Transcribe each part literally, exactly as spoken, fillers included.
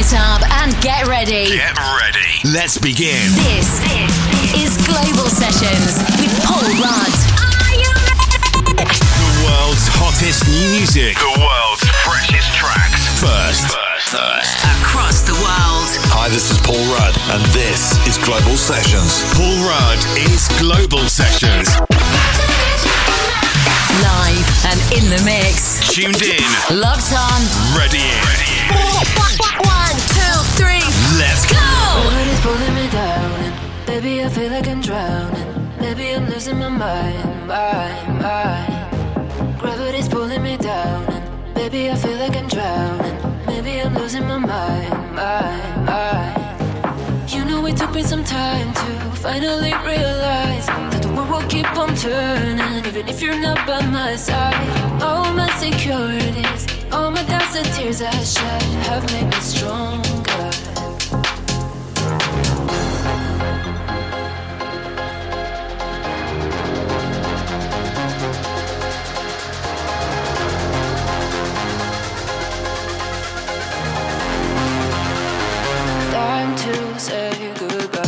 it up and get ready. Get ready. Let's begin. This is Global Sessions with Paul Rudd. Are you ready? The world's hottest new music. The world's freshest tracks. First. First. First. Across the world. Hi, this is Paul Rudd, and this is Global Sessions. Paul Rudd is Global Sessions. Live and in the mix. Tuned in. Locked on. Ready in. Ready in. One, two, three. Let's go. Gravity's pulling me down, and baby, I feel like I'm drowning. Maybe I'm losing my mind, mind, mind. Gravity's pulling me down, and baby, I feel like I'm drowning. Maybe I'm losing my mind, mind, mind. You know it took me some time to finally realize that the world will keep on turning, even if you're not by my side. All my insecurities, all my doubts and tears I shed have made me stronger. Time to say goodbye.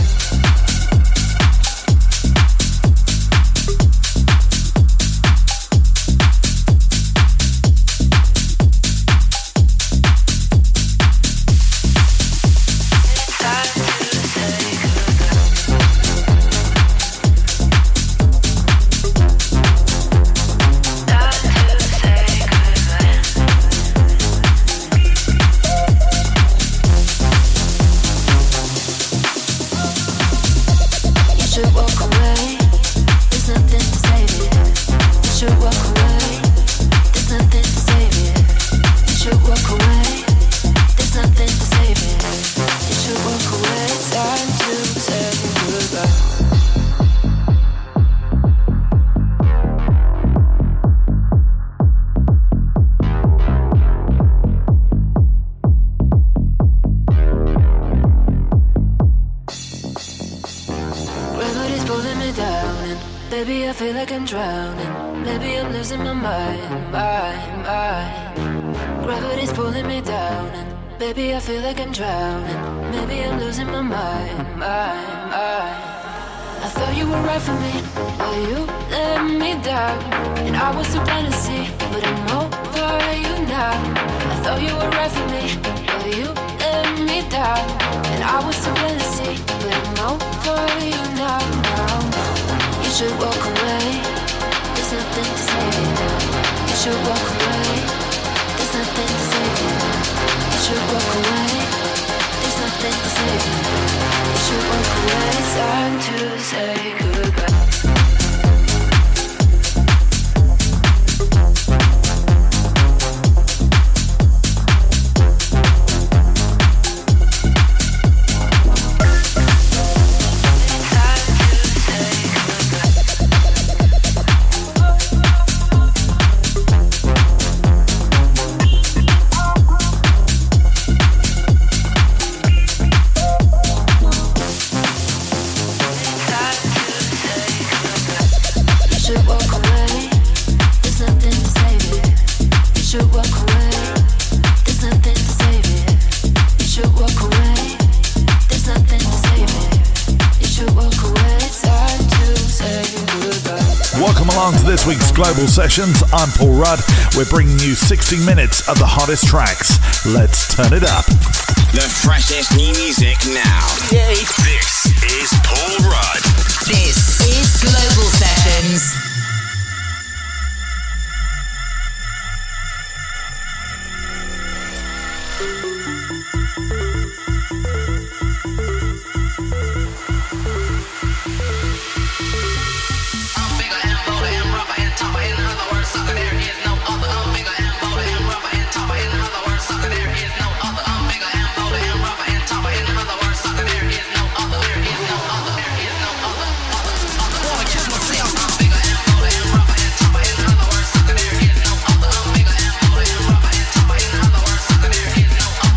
This week's Global Sessions. I'm Paul Rudd. We're bringing you sixty minutes of the hottest tracks. Let's turn it up. The freshest new music now. Yay. This is Paul Rudd. This is Global Sessions. Myself, I'm bigger and bolder and rougher and tougher. In other words, sucker, there is no other. I'm bigger and bolder and rougher and tougher. In other words, sucker, there is no other.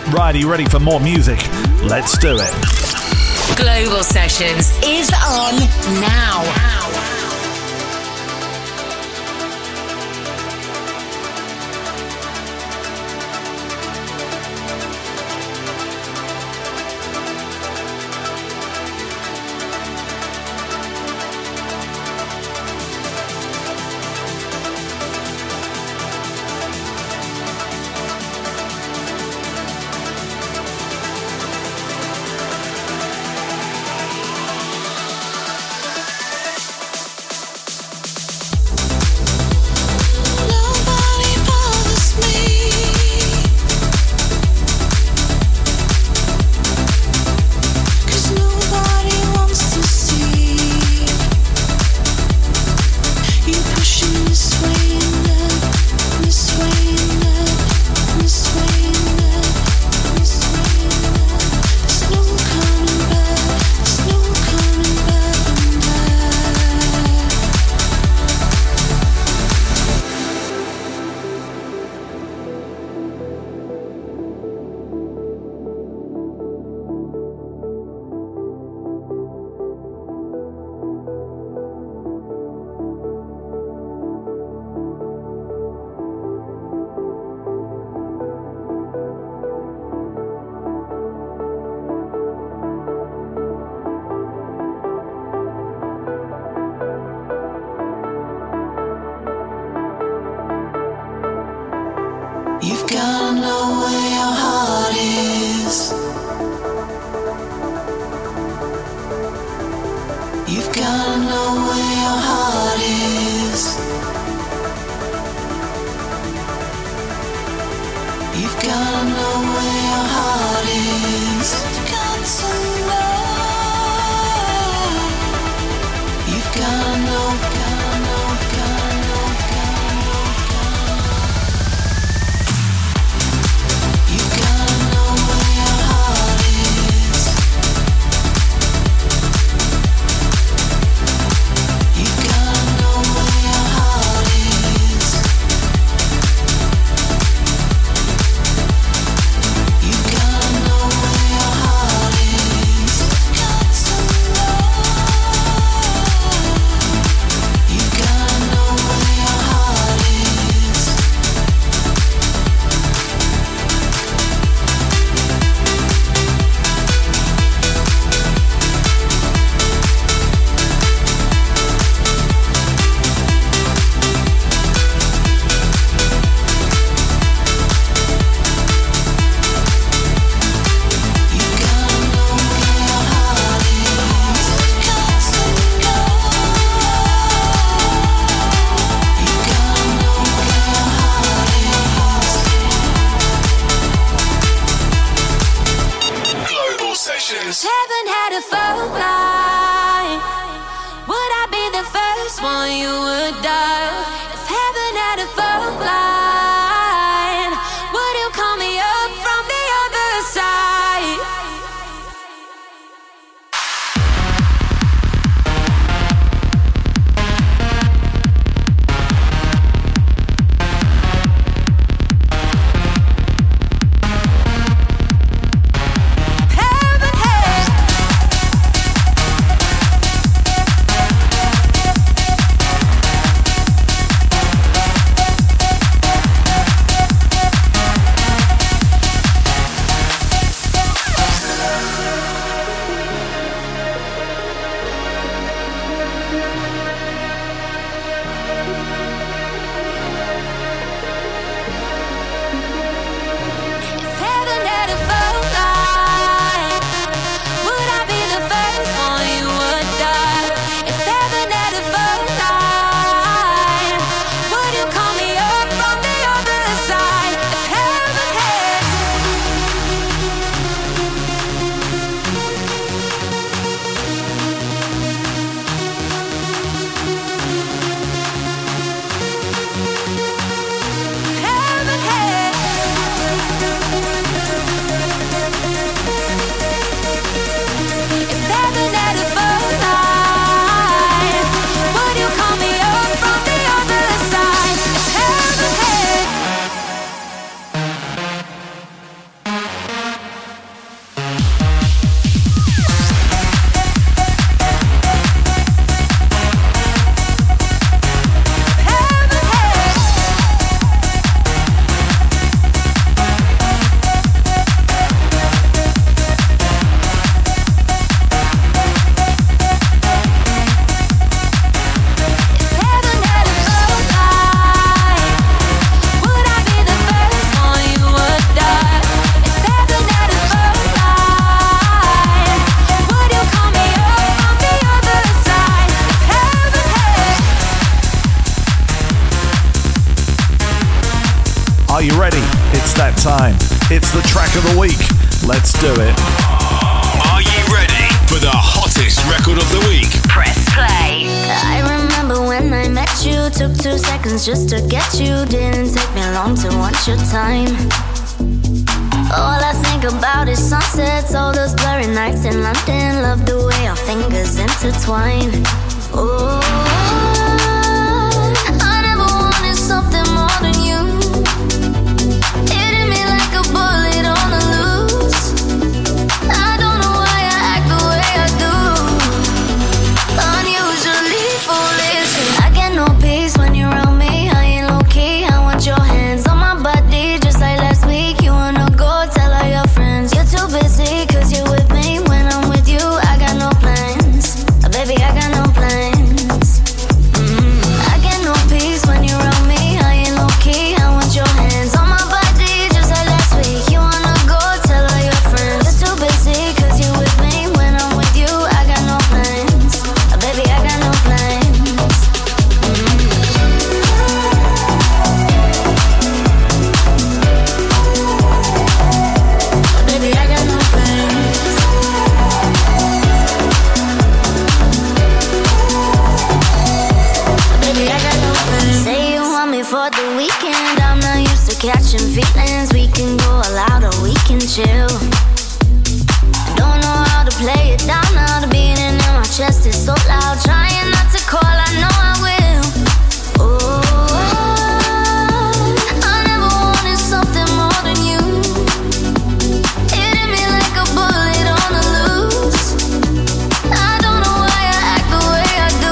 Right, are you ready for more music? Let's do it. Global Sessions is on now. time. It's the track of the week. Let's do it. Are you ready for the hottest record of the week? Press play. I remember when I met you, took two seconds just to get you. Didn't take me long to want your time. All I think about is sunsets, all those blurry nights in London. Love the way our fingers intertwine. Oh, I never wanted something more than you. Hitting me like a bullet on the loose. I don't know why I act the way I do. Unusually foolish. I get no peace when you're around me. I ain't low key. I want your hands on my body, just like last week. You wanna go tell all your friends you're too busy, cause you're with me. When I'm with you, I got no plans. Uh, baby, I got no plans. Mm. I get no peace when you're around me. I ain't low key. I want your hands on my body, just like last week. You wanna go tell all your friends you're too busy, cause you're with me. When I'm with you, I got no plans. Uh, baby, I got no plans. Mm. Baby, I got no plans. Baby, I got no plans. Say you want me for the weekend. I'm not used to catching feelings. We can go all out or we can chill. Don't know how to play it down now. The beating in my chest is so loud. Trying not to call, I know I will. Oh, I never wanted something more than you. Hitting me like a bullet on the loose. I don't know why I act the way I do.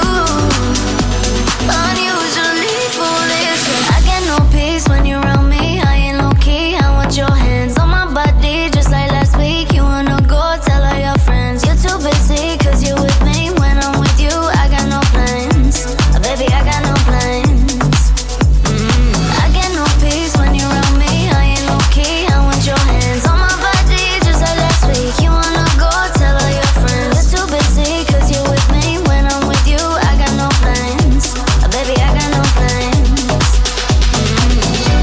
Unusually foolish. I get no peace when you're around me. I ain't low key. I want your hands on my body, just like last week. You wanna go tell all your friends you're too busy, cause you're with me. When I'm with you, I got no plans. Uh, baby, I got no plans. Mm. I get no peace when you're around me. I ain't low key. I want your hands on my body, just like last week. You wanna go tell all your friends you're too busy, cause you're with me. When I'm with you, I got no plans. Uh, baby, I got no plans. Mm.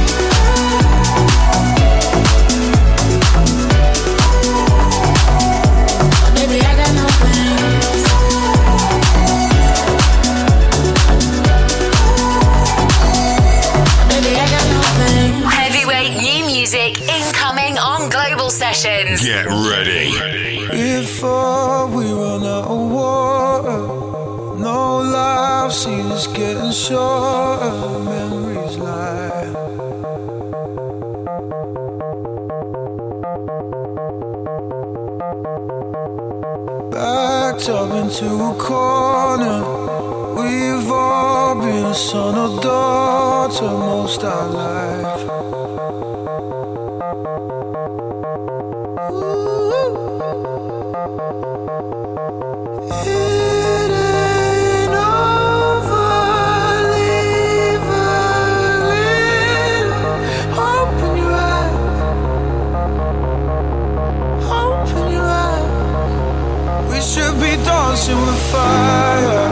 Baby, I got no plans. Baby, I got no plans. Heavyweight new music incoming on Global Sessions. Get ready. Before we run out of water, no life seems getting shorter. Memories lie. Backed up into a corner. We've all been a son or daughter most our life. It ain't over, leave a little hope in your eyes, hope in your eyes. We should be dancing with fire.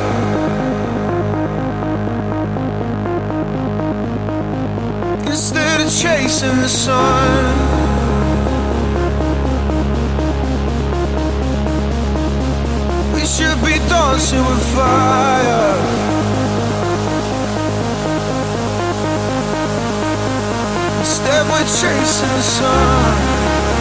Instead of chasing the sun. We should be dancing with fire. Instead we're chasing the sun.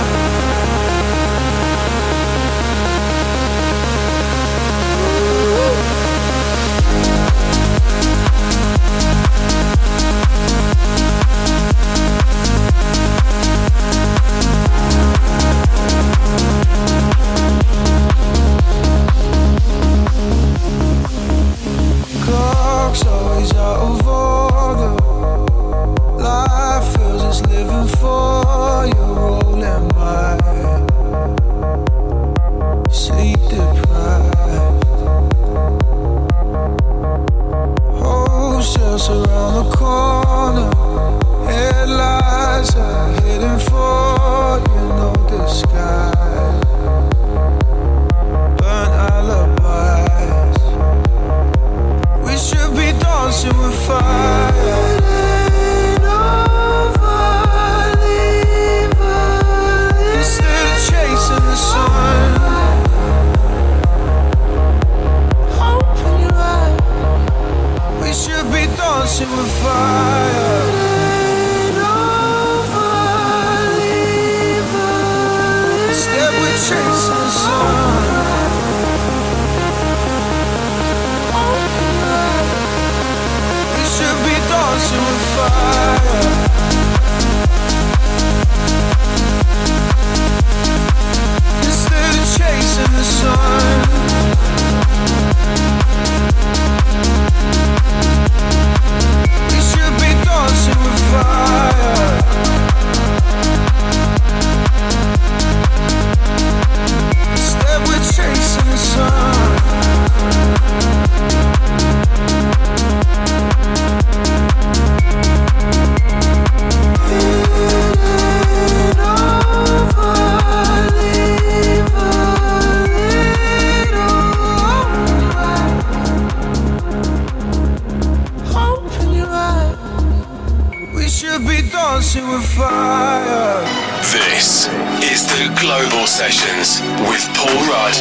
Clock's always out of order. Life feels it's living for you. higher. This is the Global Sessions with Paul Rudd.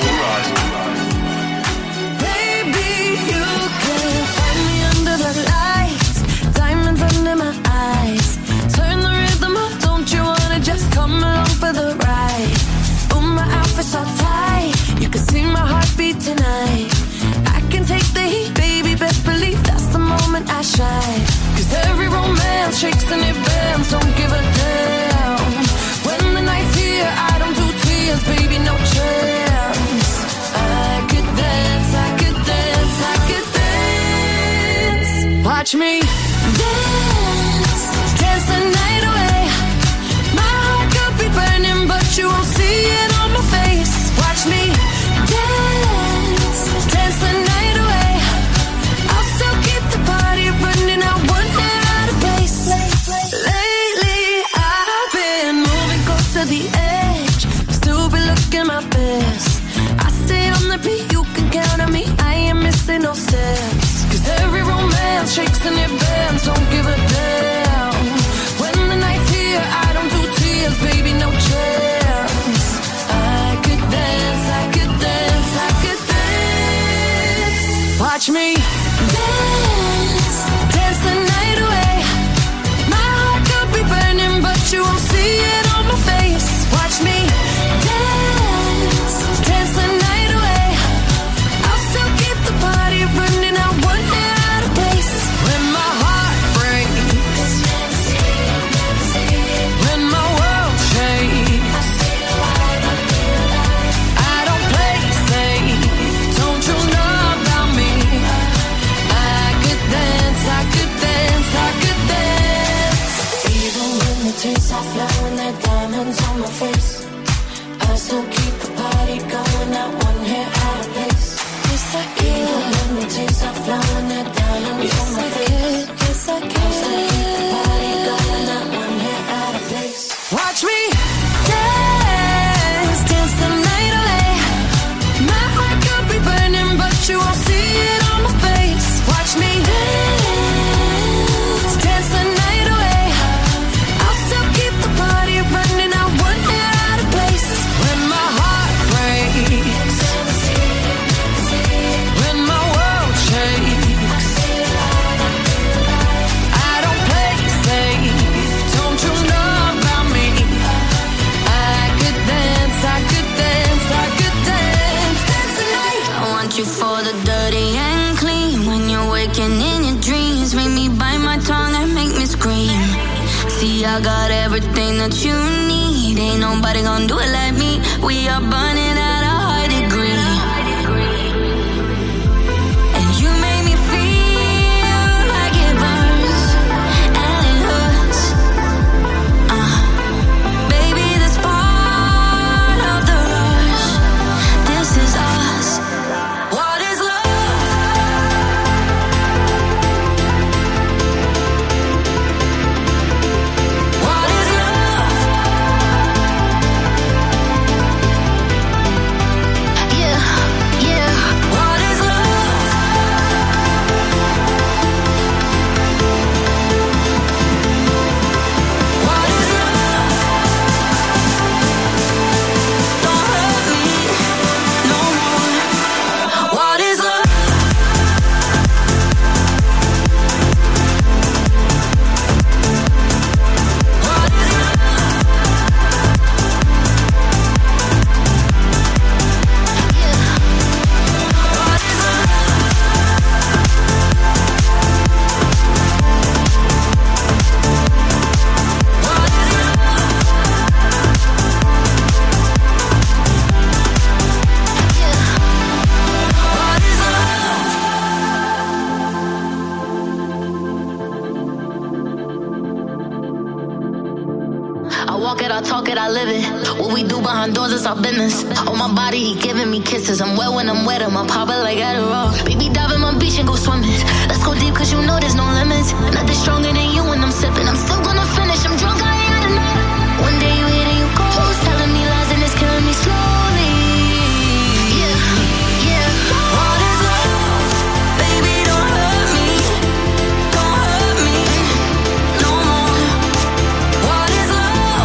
Baby, you can find me under the lights, diamonds under my eyes. Turn the rhythm up, don't you wanna just come along for the ride? Oh, my outfit's all tight, you can see my heartbeat tonight. I can take the heat, baby, best believe that's the moment I shine. Cause every romance shakes and it bends, don't give a damn. When the night's here, I don't do tears, baby, no chance. I could dance, I could dance, I could dance. Watch me dance, dance the night away. My heart could be burning, but you won't see it on my face. Watch me dance, dance the night away. I'll still keep the party running, I won't get out of place. Lately, I've been moving close to the edge, still be looking my best. I stay on the beat, you can count on me, I ain't missing no steps. Cause every romance shakes and it bends, don't give a damn. When the night's here, I don't do tears, baby, no chance. I could dance, I could dance, I could dance. Watch me dance, dance the night away. My heart could be burning, but you won't see it on my face. Watch me dance, dance the night away. I'll still keep the party running, I won't get out of place. When my heart breaks, when my world shakes, I don't play safe, don't you know about me? I could dance, I could dance, I could dance. Even when the tears are flowing, they're diamonds on my face, I still keep the party going, not one hair out of place. Yes, I can. Even when the tears are flowing, they're diamonds yes, on my I face. Can. Yes, I can. I still keep the party going, not one hair out of place. Watch me dance, dance the night away. My heart could be burning, but you won't see it on my face. Watch me dance, dance the night away. I'll still keep the party running, I won't get out of place. When my heart breaks, when my world shakes, I don't play safe, don't you know about me? I could dance, I could dance, I could dance, dance the night. I want you for the dirty and clean. When you're waking in your dreams, make me bite my tongue and make me scream. See, I got everything that you need. Ain't nobody gonna do it like me. We are burning at a high degree. And you make me feel like it burns and it hurts. Uh, baby, this part of the rush. This is us. What is love? What is love? Yeah, yeah. What is love? What is love? Don't hurt me no more. What is love? What is love? Yeah. What is love? What is love? Yeah. What is love? I walk it, I talk it, I live it. What we do behind doors is our business. On my body, he giving me kisses. I'm wet when I'm wet, I'm pop it like Adderall. Baby, dive in my beach and go swimming. Let's go deep, cause you know there's no limits. Nothing stronger than you when I'm sipping. I'm still gonna finish, I'm drunk, I ain't had enough. One day you hit and you go, telling me lies and it's killing me slowly. Yeah, yeah. What is love? Baby, don't hurt me. Don't hurt me no more. What is love?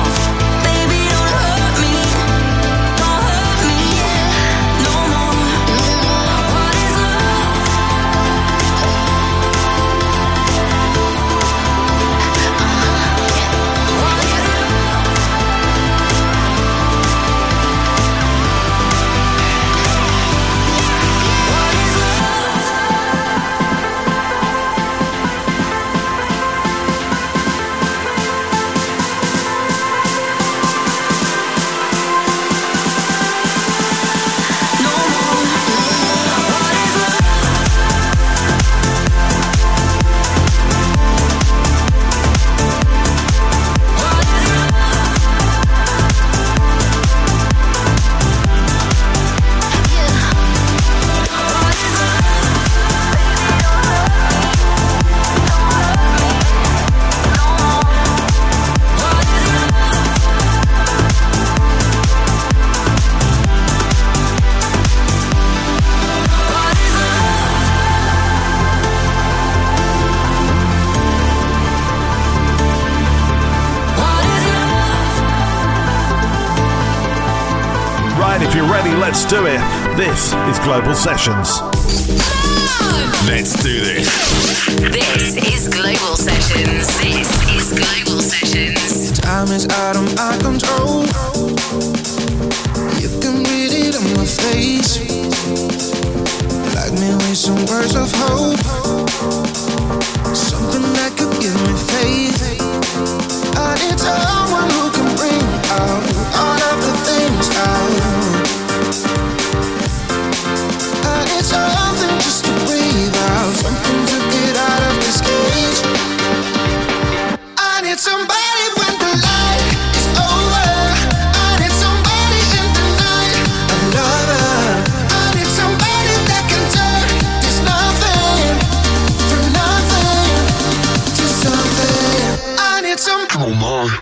right, if you're ready, let's do it. This is Global Sessions. Let's do this. This is Global Sessions. This is Global Sessions. Time is out of my control. You can read it on my face. Like me with some words of hope. Something that could give me faith. I need someone who can bring out all of the things out. I need something just to breathe out, something to get out of this cage. I need somebody when the light is over. I need somebody in the night, another. I need somebody that can turn this nothing from nothing to something. I need some. Oh my.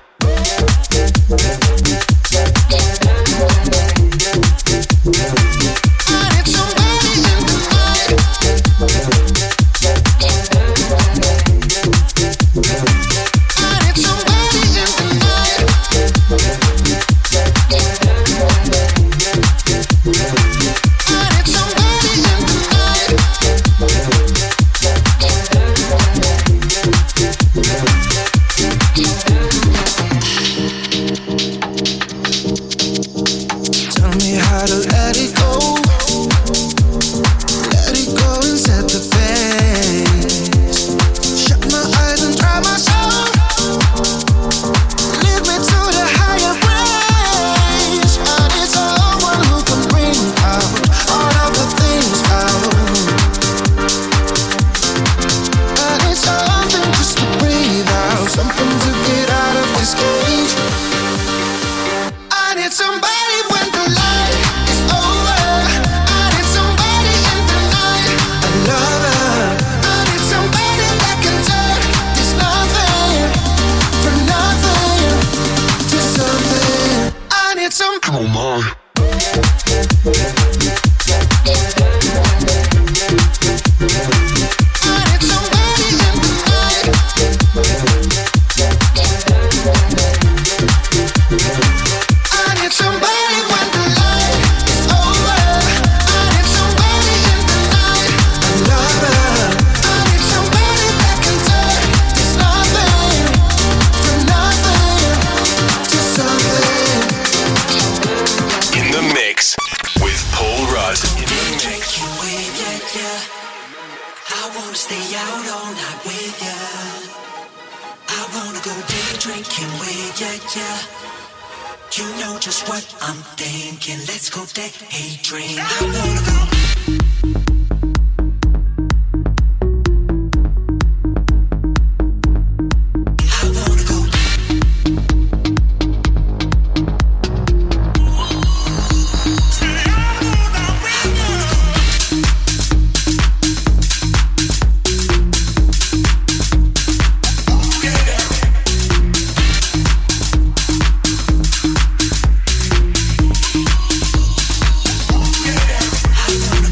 I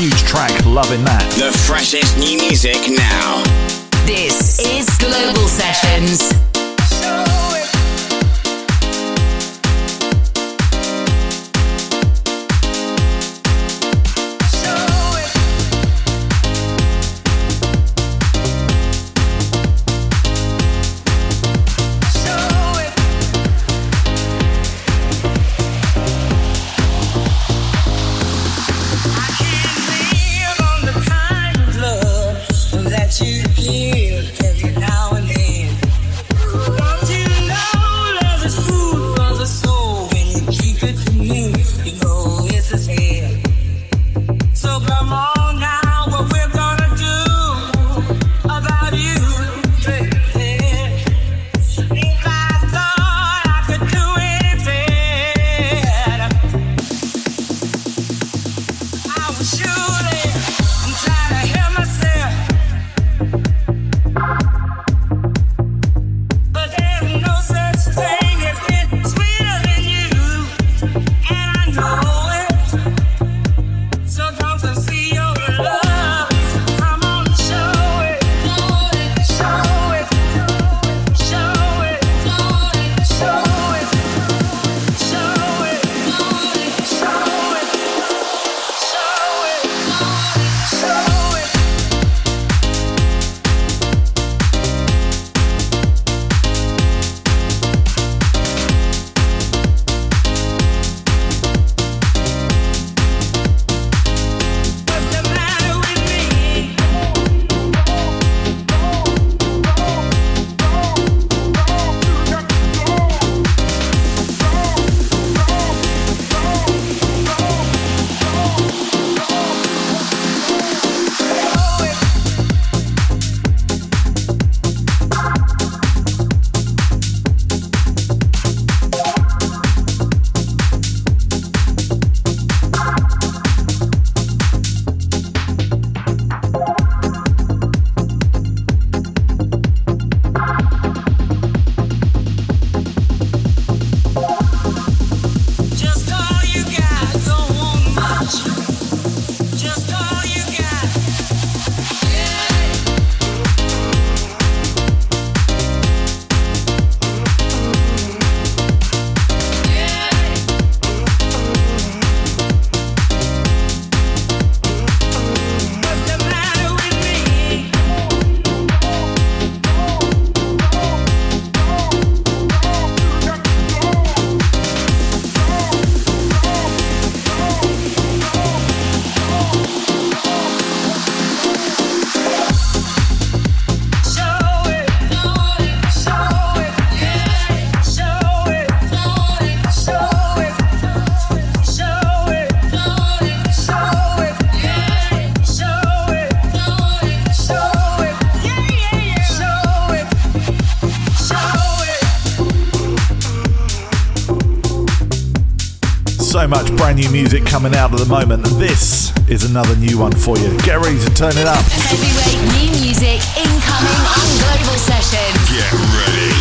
huge track, loving that. The freshest new music now. This is Global Sessions. You feel every now and then. So much brand new music coming out at the moment, and this is another new one for you. Get ready to turn it up. Heavyweight new music incoming on Global Sessions. Get ready.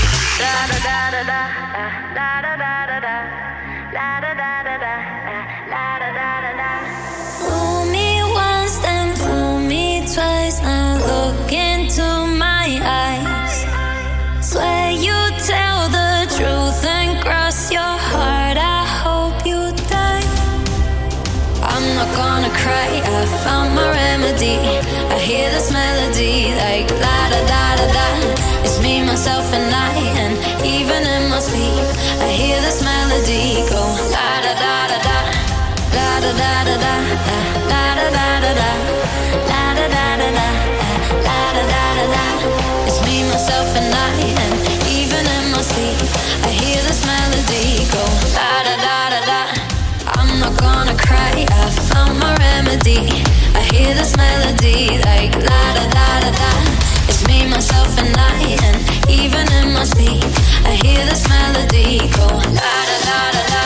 Fool me once, then fool me twice. Now look into my eyes. Swear you tell the truth and cross your heart. I hope you die. I'm not gonna cry, I found my remedy. I hear this melody like la da da da da. It's me, myself and I, and even in my sleep I hear this melody go la da da da da, la da da da da, la da da da da, la da da da da, la da da da da. It's me, myself and I, and even in my sleep I hear this melody go la da da da da. I'm not gonna cry, I found my remedy. I hear this melody like la da da da da. It's me, myself and I, and even in my sleep I hear this melody go la da da da da.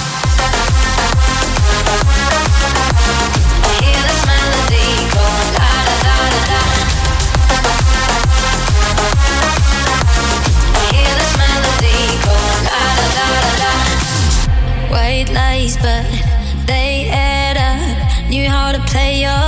I hear this melody go la da da da da. I hear this melody go la da da da da. White lies, but they add up. Knew how to play your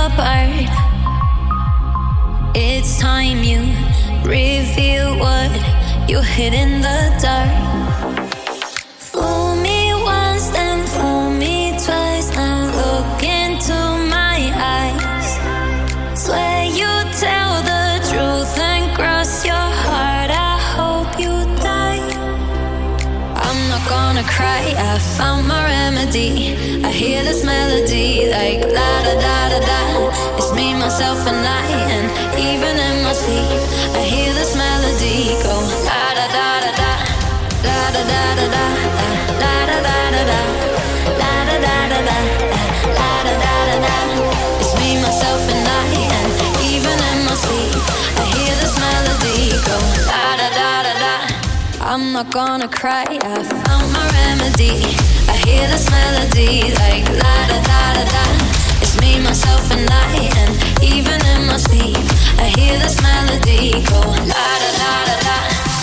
pit in the dark. Fool me once, then fool me twice. Now look into my eyes. Swear you tell the truth and cross your heart. I hope you die. I'm not gonna cry, I found my remedy. I hear this melody like la da da da da. It's me, myself and I, and even in my sleep I hear this melody go la da da da da, la da da da da, la da da da da, la da da da da, la da da da da. It's me, myself and I, and even in my sleep I hear this melody go la da da da da. I'm not gonna cry, I found my remedy. I hear this melody like la da da da da. It's me, myself and I, and even in my sleep I hear this melody go la da da da da.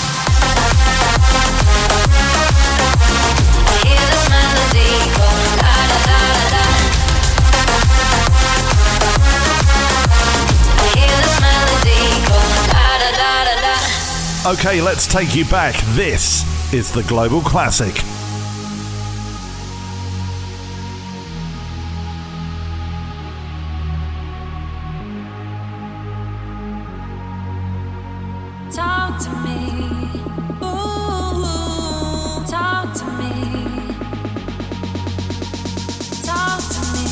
I hear this melody go la da da da da. I hear this melody go la da da da da. Okay, let's take you back. This is the Global Classic. Talk to me, ooh, talk to me, talk to me,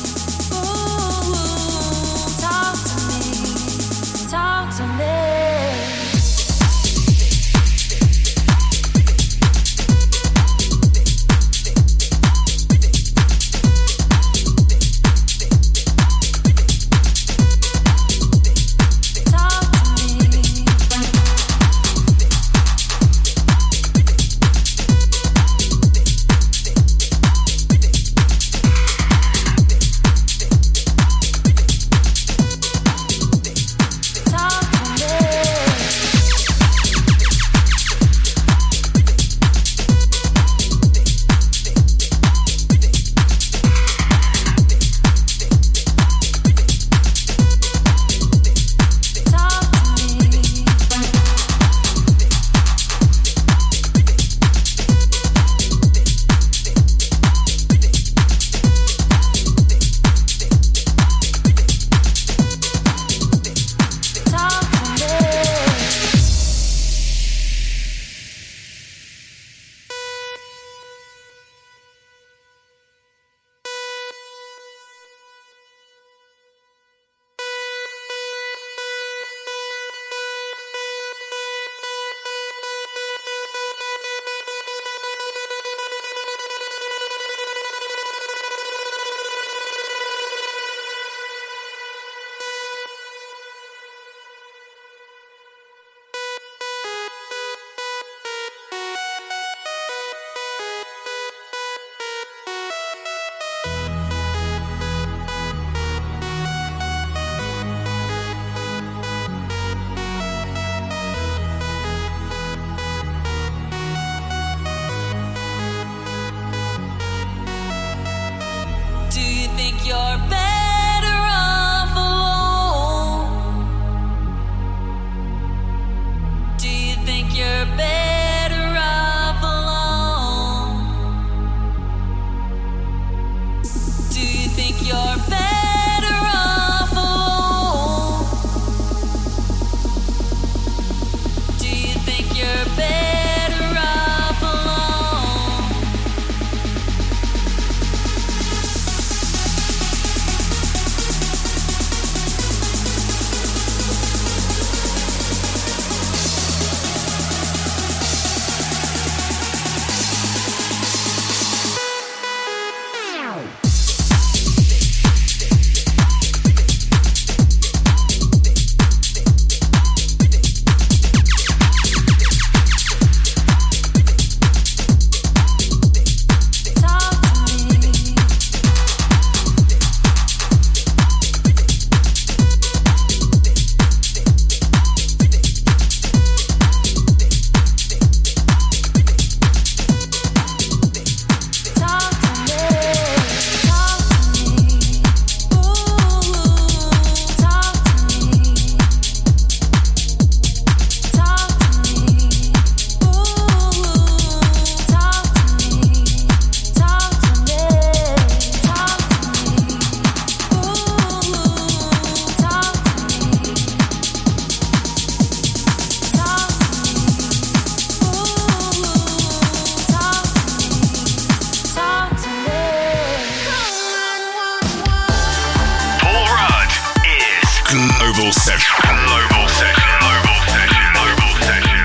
ooh, talk to me, talk to me. You're better off alone. Do you think you're better off alone? Do you think you're better off alone? Do you think you're better off alone? Global Session. Global Session. Global Session. Global Session.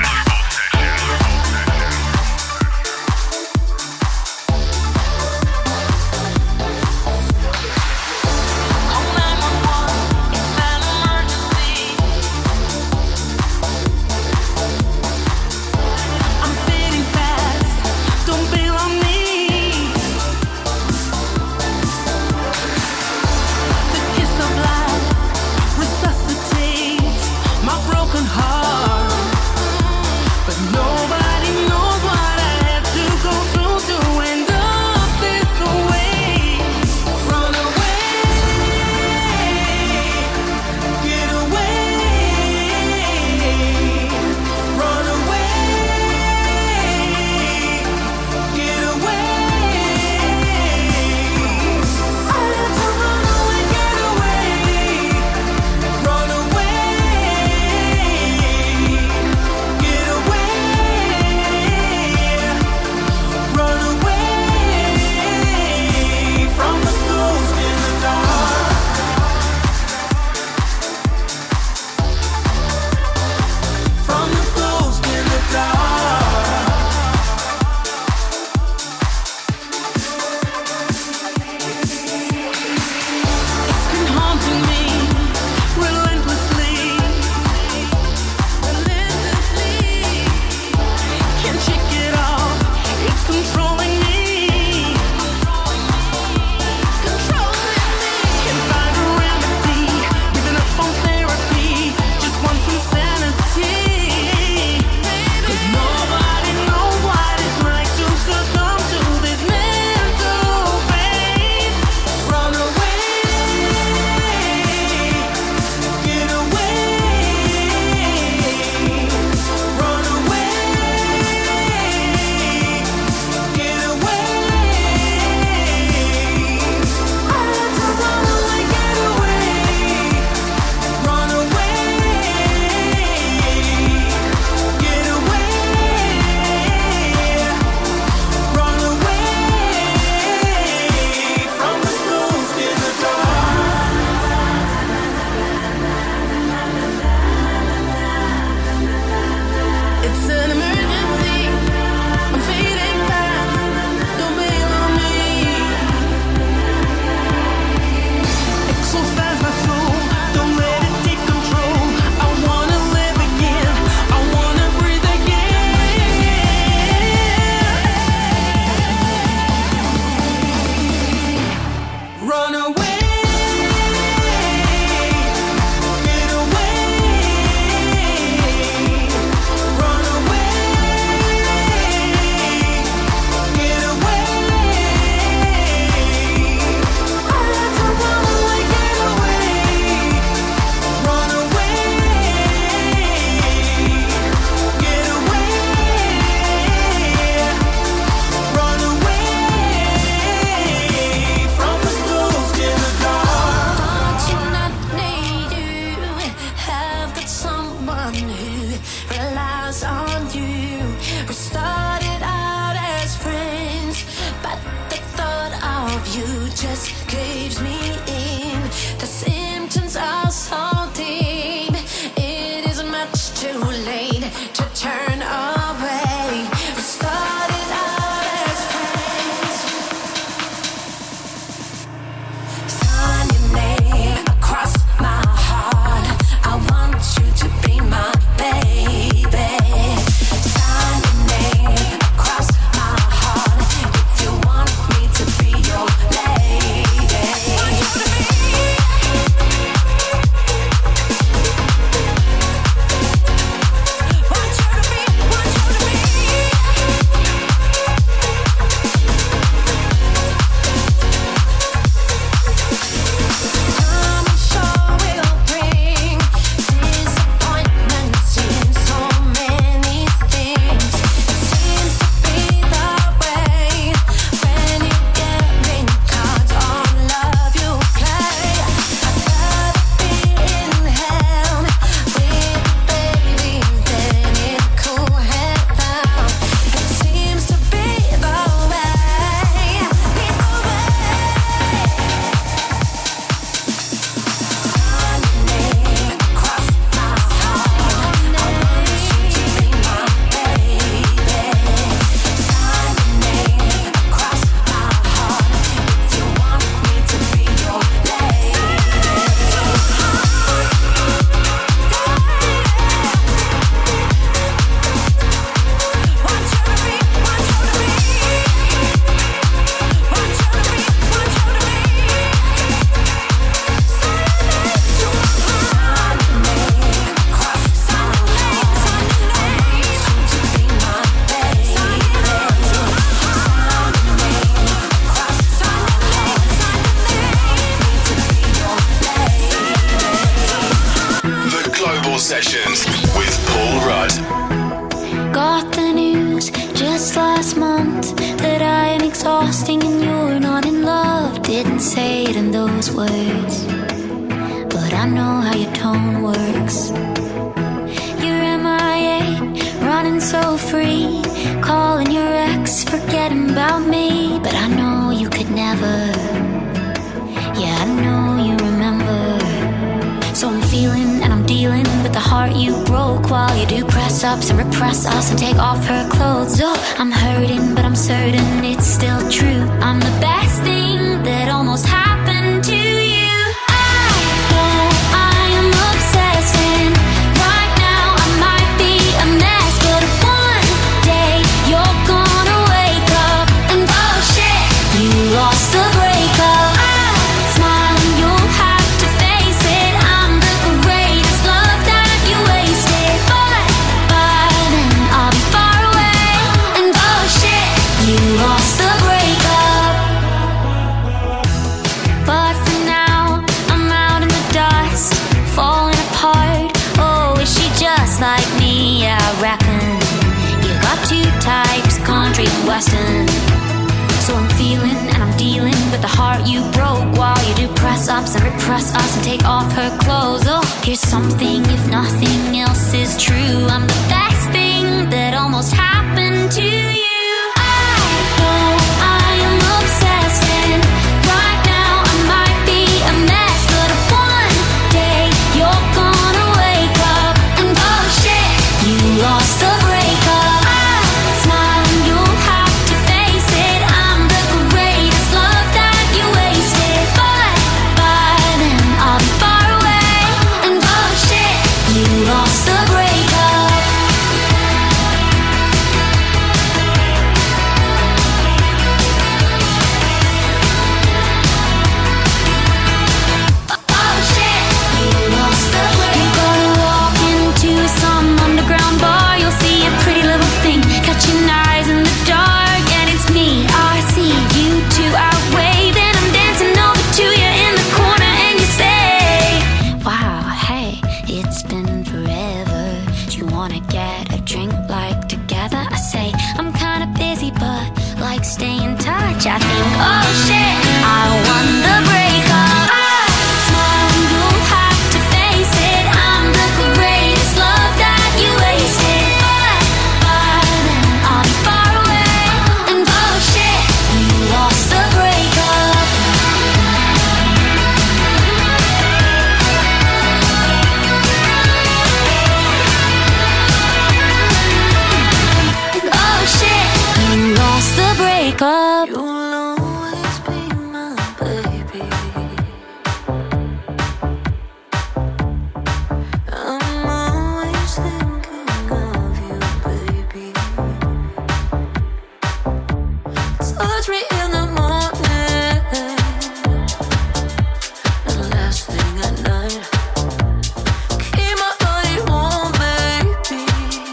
Across my heart, if you want me to be your lady. those words, but I know how your tone works. You're M I A, running so free, calling your ex, forgetting about me. But I know you could never, yeah, I know you remember. So I'm feeling and I'm dealing with the heart you broke, while you do press ups and repress us and take off her clothes. Oh, I'm hurting, but I'm certain it's still true. I'm the best thing that almost happened to you. I know I am obsessing. Right now I might be a mess, but one day you're gonna wake up and oh shit, you lost the breakup. I smile and you'll have to face it. I'm the greatest love that you wasted, but by then I'll be far away and oh shit, you lost the breakup. But for now, I'm out in the dust, falling apart. Oh, is she just like me? Yeah, I reckon you got two types, country and western. So I'm feeling and I'm dealing with the heart you broke, while you do press ups and repress us and take off her clothes. Oh, here's something if nothing else is true. I'm the best thing that almost happened to you. I know I am obsessing. Right now I might be a mess, but one day you're gonna wake up and oh shit, you lost the breakup. I smile and you'll have to face it. I'm the greatest love that you wasted, but by then I'll be far away and oh shit, you lost the breakup. Oh shit, you lost the breakup. You're gonna walk into some underground bar, you'll see a pretty little thing catching eyes in the dark, and it's me. I see you two out waving, I'm dancing over to you in the corner, and you say, wow, hey, it's been forever. Do you wanna get a drink like together? I say, I'm kinda busy, but like stay in touch. I think, oh shit, I won the breakup. I smile and you'll have to face it. I'm the greatest love that you wasted, but by then I'll be far away and oh shit, you lost the breakup. Oh shit, you lost the breakup. You'll always be my baby. I'm always thinking of you, baby. Touch me in the morning and last thing at night. Keep my body warm, baby.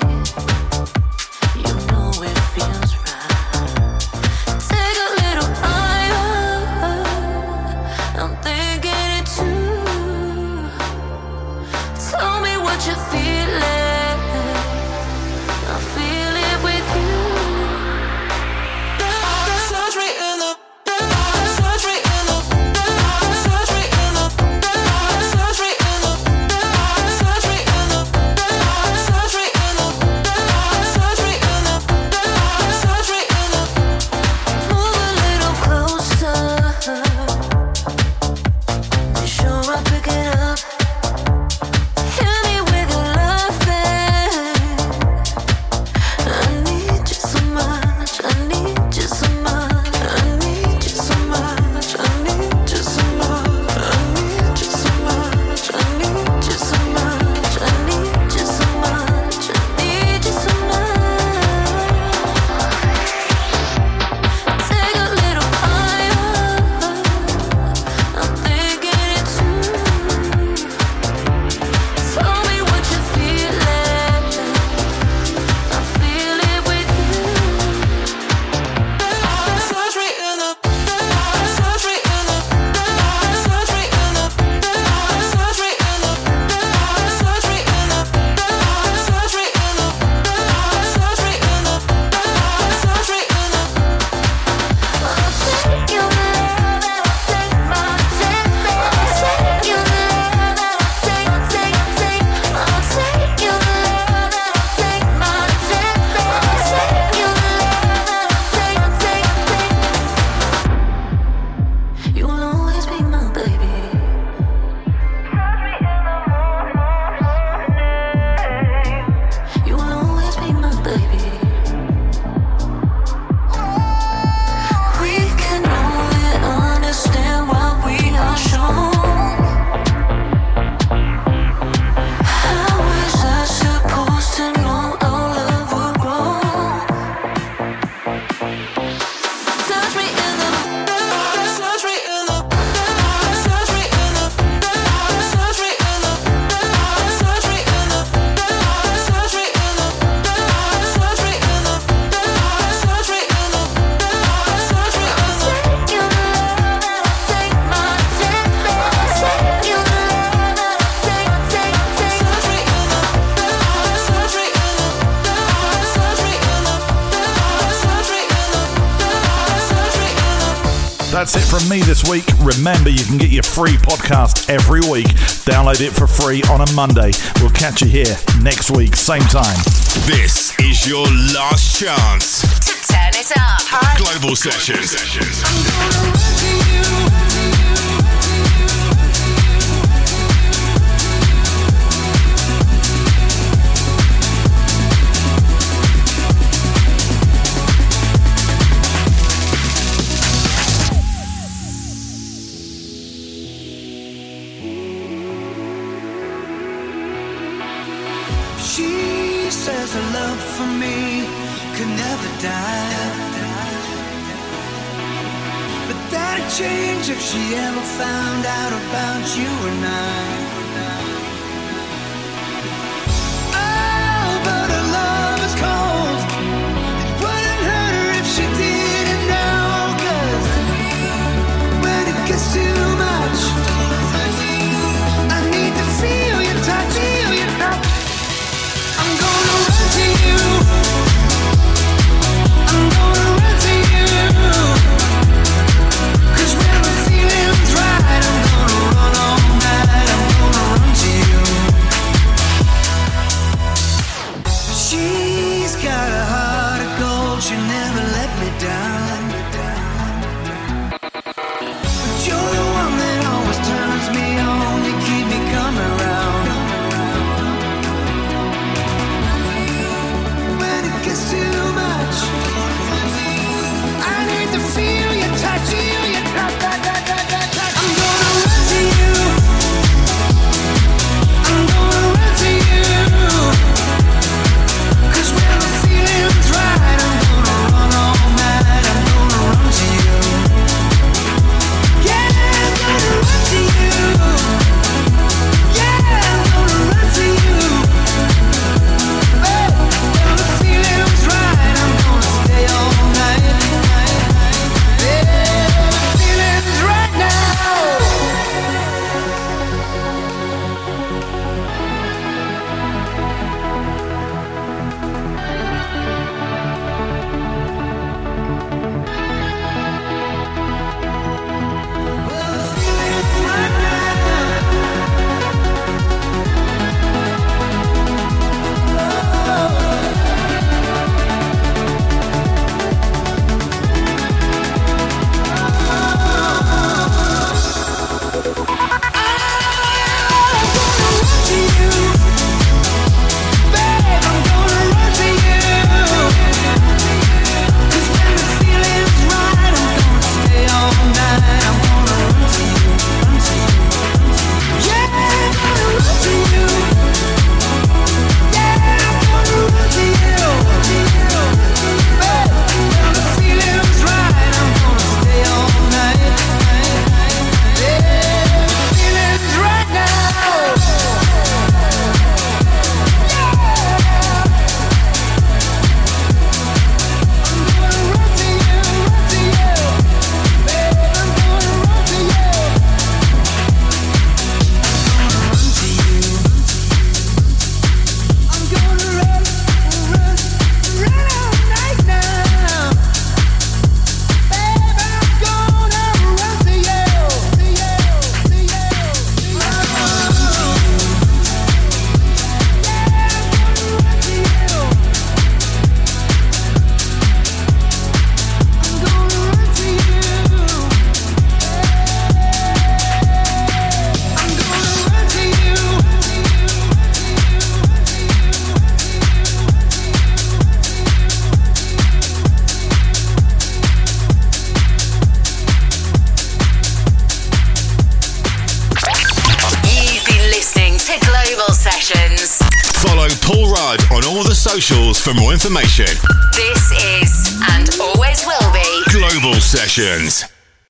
You know it feels right. Take a little higher. I'm thinking it too. Tell me what you're feeling. I feel it with you. Touch me That's it from me this week. Remember, you can get your free podcast every week. Download it for free on a Monday. We'll catch you here next week, same time. This is your last chance to turn it up. Global Sessions. She says her love for me could never die, but that'd change if she ever found out about you and I. Oh, but her love is cold. It wouldn't hurt her if she didn't know, 'cause when it gets too much, I need to feel your touch, feel your touch. I'm gonna run to you. I'm gonna run to you. 'Cause when the feeling's right, I'm gonna run all night. I'm gonna run to you. She's got a heart of gold. She never let me down. But you're the one that always turns me on. You keep me coming round. It's too much. I need to feel your touch, feel your touch, touch, touch, touch, touch. I'm gonna run to you. I'm gonna run to you. 'Cause when the feeling's right, I'm gonna run all night. I'm gonna run to you. Yeah, I'm gonna run to you. Yeah, I'm gonna run to you. Paul Rudd on all the socials for more information. This is, and always will be, Global Sessions.